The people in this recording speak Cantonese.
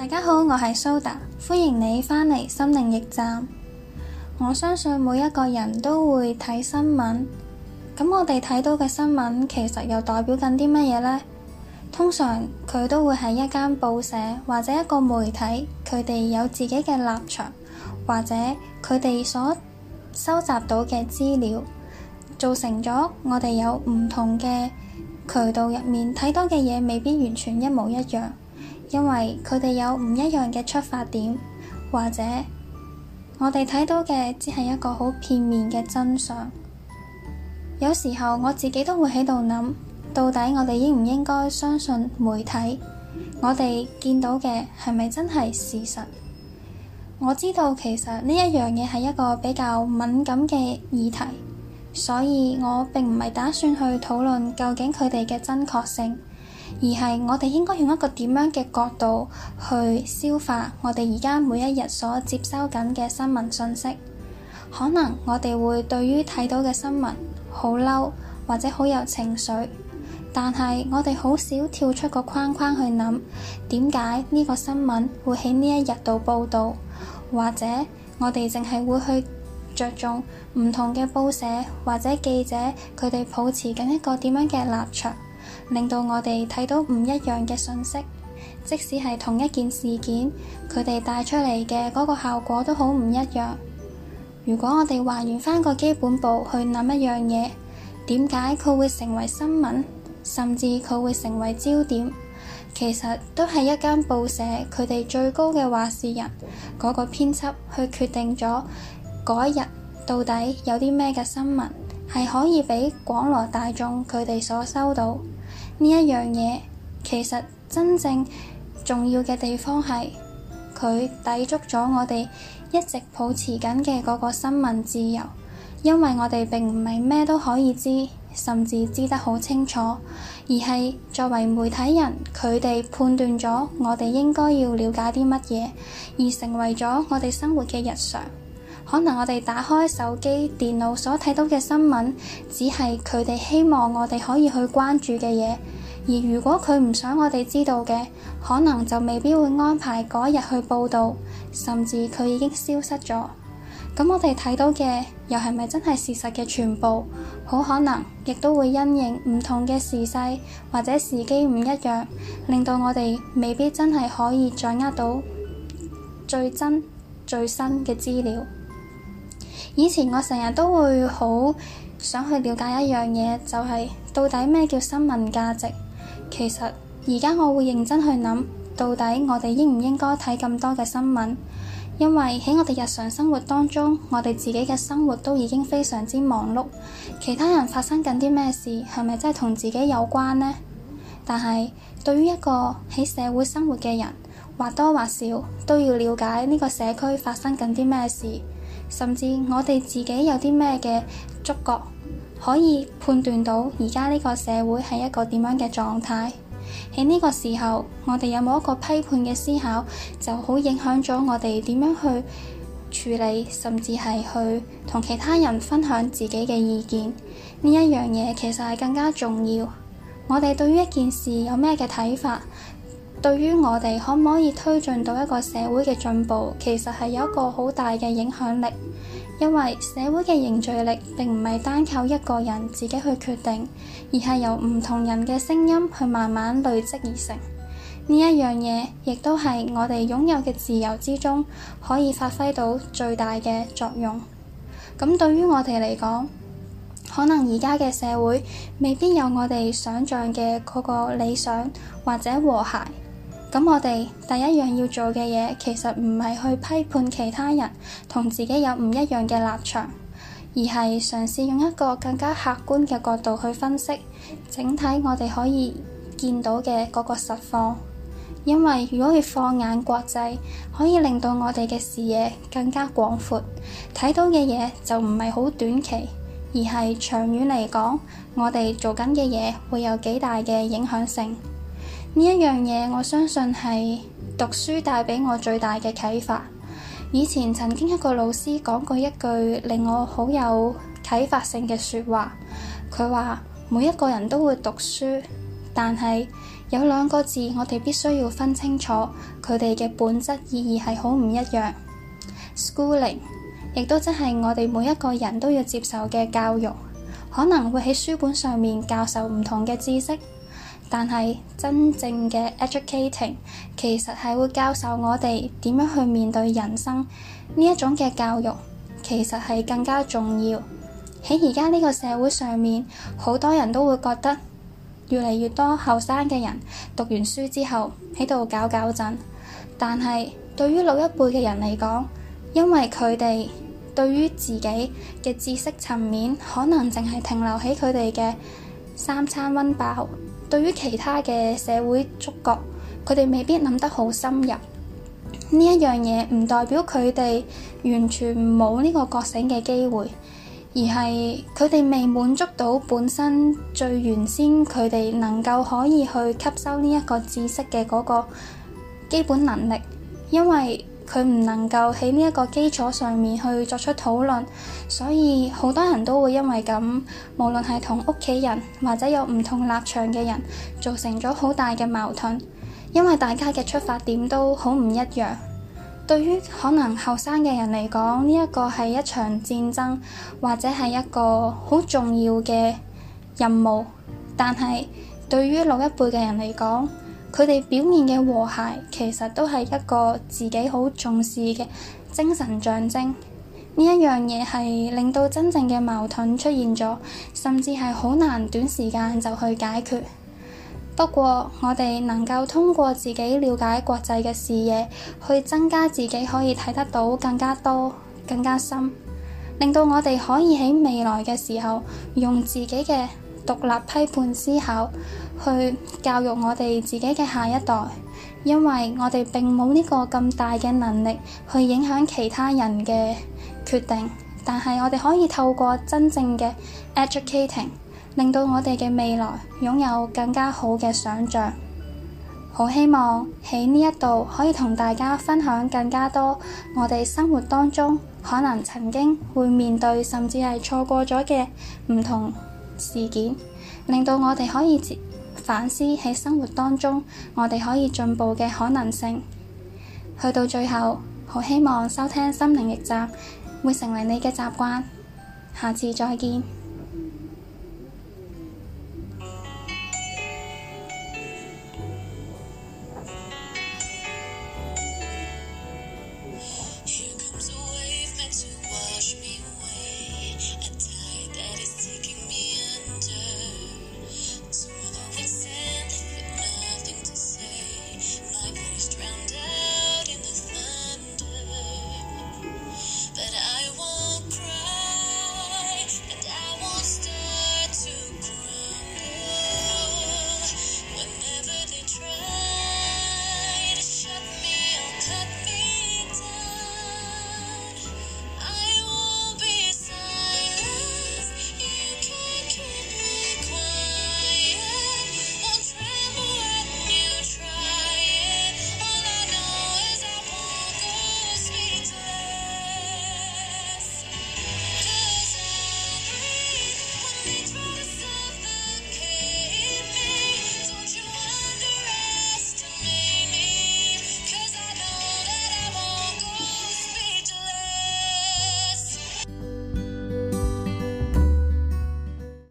大家好，我係蘇達，歡迎你返嚟心靈驛站。我相信每一個人都會睇新聞，咁我哋睇到嘅新聞其實又代表緊啲乜嘢呢？通常佢都會係一間報社或者一個媒體，佢哋有自己嘅立場，或者佢哋所收集到嘅資料，造成咗我哋有唔同嘅渠道入面睇到嘅嘢未必完全一模一樣，因為佢哋有唔一樣嘅出發點，或者我哋睇到嘅只係一個好片面嘅真相。有時候我自己都會喺度諗，到底我哋應唔應該相信媒體？我哋見到嘅係咪真係事實？我知道其實呢一樣嘢係一個比較敏感嘅議題，所以我並唔係打算去討論究竟佢哋嘅真確性，而係我哋應該用一個點樣嘅角度去消化我哋而家每一日所接收緊嘅新聞信息。可能我哋會對於睇到嘅新聞好嬲，或者好有情緒，但係我哋好少跳出個框框去諗，點解呢個新聞會喺呢一日度報導，或者我哋淨係會去着重唔同嘅報社或者記者佢哋抱持緊一個點樣嘅立場，令到我哋睇到唔一樣嘅信息。即使係同一件事件，佢哋帶出嚟嘅嗰個效果都好唔一樣。如果我哋還原返個基本步去諗一樣嘢，點解佢會成為新聞，甚至佢會成為焦點，其實都係一間報社佢哋最高嘅話事人嗰個編輯去決定咗嗰一日到底有啲咩嘅新聞係可以俾廣羅大眾佢哋所收到。呢一樣嘢其實真正重要嘅地方係佢抵觸咗我哋一直抱持緊嘅嗰個新聞自由，因為我哋並唔係咩都可以知，甚至知得好清楚，而係作為媒體人，佢哋判斷咗我哋應該要了解啲乜嘢，而成為咗我哋生活嘅日常。可能我哋打開手機、電腦所睇到嘅新聞，只係佢哋希望我哋可以去關注嘅嘢，而如果佢唔想我哋知道嘅，可能就未必會安排嗰日去報導，甚至佢已經消失咗。咁我哋睇到嘅又係咪真係事實嘅全部？好可能亦都會因應唔同嘅時勢或者時機唔一樣，令到我哋未必真係可以掌握到最真最新嘅資料。以前我成日都會好想去了解一樣嘢，就係到底咩叫新聞價值。其實而家我會認真去諗，到底我哋應唔應該睇咁多嘅新聞？因為喺我哋日常生活當中，我哋自己嘅生活都已經非常之忙碌，其他人發生緊啲咩事，係咪真係同自己有關呢？但係對於一個喺社會生活嘅人，或多或少都要了解呢個社區發生緊啲咩事，甚至我哋自己有啲咩嘅觸覺，可以判斷到而家呢個社會係一個點樣嘅狀態。喺呢個時候，我哋有冇一個批判嘅思考，就好影響咗我哋點樣去處理，甚至係去同其他人分享自己嘅意見。呢一樣嘢其實係更加重要。我哋對於一件事有咩嘅睇法，對於我哋可唔可以推進到一個社會嘅進步，其實係有一個好大嘅影響力。因為社會嘅凝聚力並唔係單靠一個人自己去決定，而係由唔同人嘅聲音去慢慢累積而成。呢一樣嘢亦都係我哋擁有嘅自由之中可以發揮到最大嘅作用。咁對於我哋嚟講，可能而家嘅社會未必有我哋想象嘅嗰個理想或者和諧。咁我哋第一樣要做嘅嘢，其實唔係去批判其他人同自己有唔一樣嘅立場，而係嘗試用一個更加客觀嘅角度去分析整體我哋可以見到嘅嗰個實況。因為如果要放眼國際，可以令到我哋嘅視野更加廣闊，睇到嘅嘢就唔係好短期，而係長遠嚟講，我哋做緊嘅嘢會有幾大嘅影響性。呢一樣嘢，我相信係讀書帶俾我最大嘅啟發。以前曾經一個老師講過一句令我好有啟發性嘅說話，佢話每一個人都會讀書， 但係有兩個字我哋必須要分清楚，佢哋嘅本質意義係好唔一樣。Schooling 亦都即係我哋每一個人都要接受嘅教育，可能會喺書本上面教授唔同嘅知識，但係真正嘅 educating 其實係會教授我哋點樣去面對人生。呢一種嘅教育其實係更加重要。喺而家呢個社會上面，好多人都會覺得越嚟越多後生嘅人讀完書之後喺度搞搞震，但係對於老一輩嘅人嚟講，因為佢哋對於自己嘅知識層面可能淨係停留喺佢哋嘅三餐溫飽，對於其他嘅社會觸覺，佢哋未必諗得好深入。呢一樣嘢唔代表佢哋完全冇呢個覺醒嘅機會，而係佢哋未滿足到本身最原先佢哋能夠可以去吸收呢一個知識嘅嗰個基本能力，因為佢唔能夠喺呢一個基礎上面去作出討論，所以好多人都會因為咁，無論係同屋企人或者有唔同立場嘅人，造成咗好大嘅矛盾，因為大家嘅出發點都好唔一樣。對於可能後生嘅人嚟講，呢一個係一場戰爭，或者係一個好重要嘅任務，但係對於老一輩嘅人嚟講，佢哋表面嘅和諧其實都係一個自己好重視嘅精神象徵。呢一樣嘢係令到真正嘅矛盾出現咗，甚至係好難短時間就去解決。不過我哋能夠通過自己了解國際嘅視野，去增加自己可以睇得到更加多、更加深，令到我哋可以喺未來嘅時候用自己嘅獨立批判思考去教育我哋自己嘅下一代，因為我哋並冇呢個咁大嘅能力去影響其他人嘅決定，但係我哋可以透過真正嘅 educating，令到我哋嘅未來擁有更加好嘅想像。好希望喺呢一度可以同大家分享更加多我哋生活當中可能曾經會面對甚至係錯過咗嘅唔同事件，令到我哋可以反思喺生活當中我哋可以進步嘅可能性。去到最後，好希望收聽心靈驛站會成為你嘅習慣。下次再見。